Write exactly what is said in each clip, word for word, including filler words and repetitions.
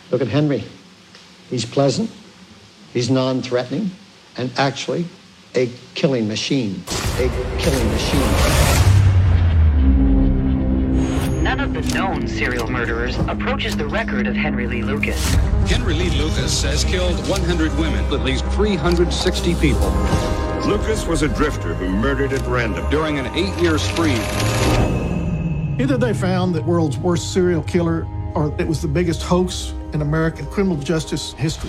Look at Henry. He's pleasant, he's non-threatening, and actually a killing machine. A killing machine. None of the known serial murderers approaches the record of Henry Lee Lucas. Henry Lee Lucas has killed one hundred women, at least three hundred sixty people. Lucas was a drifter who murdered at random during an eight-year spree. Either they found the world's worst serial killer, or it was the biggest hoax in American criminal justice history.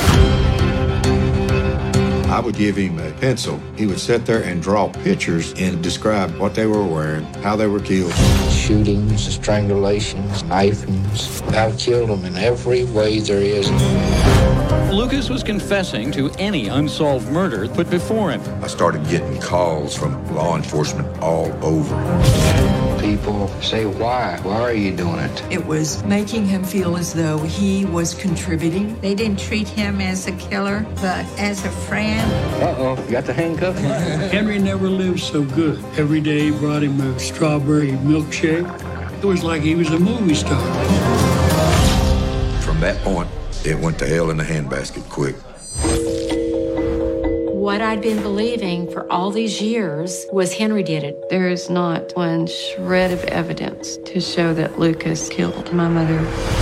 I would give him a pencil. He would sit there and draw pictures and describe what they were wearing, how they were killed. Shootings, strangulations, knifings. I've killed them in every way there is. Lucas was confessing to any unsolved murder put before him. I started getting calls from law enforcement all over. People say, why? Why are you doing it? It was making him feel as though he was contributing. They didn't treat him as a killer, but as a friend. Uh-oh, you got the handcuff? Henry never lived so good. Every day he brought him a strawberry milkshake. It was like he was a movie star. From that point, it went to hell in the handbasket quick. What I'd been believing for all these years was Henry did it. There is not one shred of evidence to show that Lucas killed my mother.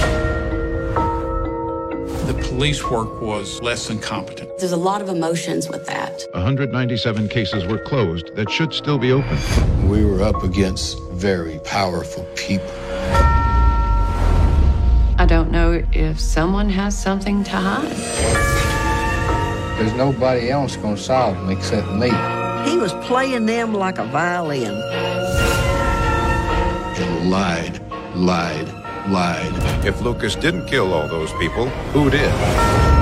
The police work was less than competent. There's a lot of emotions with that. one hundred ninety-seven cases were closed that should still be open. We were up against very powerful people. I don't know if someone has something to hide. There's nobody else gonna solve them except me. He was playing them like a violin. And lied, lied, lied. If Lucas didn't kill all those people, who did?